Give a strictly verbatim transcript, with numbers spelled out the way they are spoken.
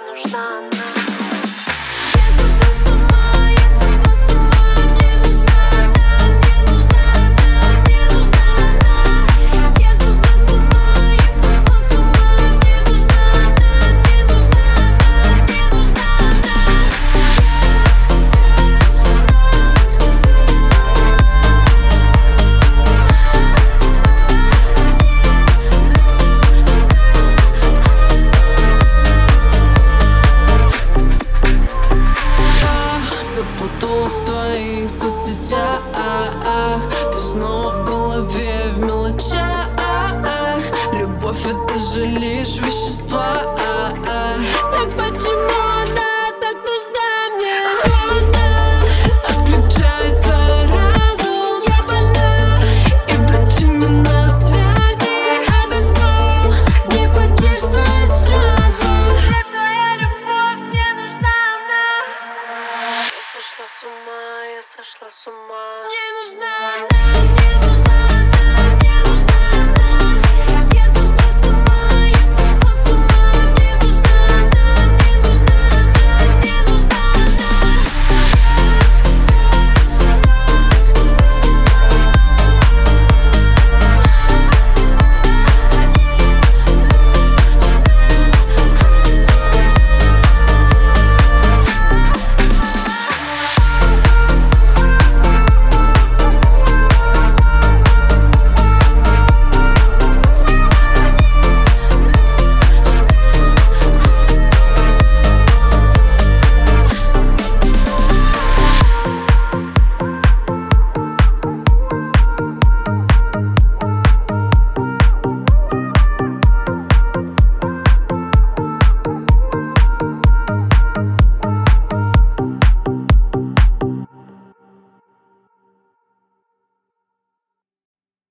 нужна она. Запуталась в твоих соцсетях, ты снова в голове в мелочах. Любовь — это же лишь вещества. Так почему она так нужна мне? Холодно, отключается разум. Я больна, и врачи не на связи. А без слов не подействует сразу. Где твоя любовь? Мне нужна она. Я сошла с ума, я сошла с ума.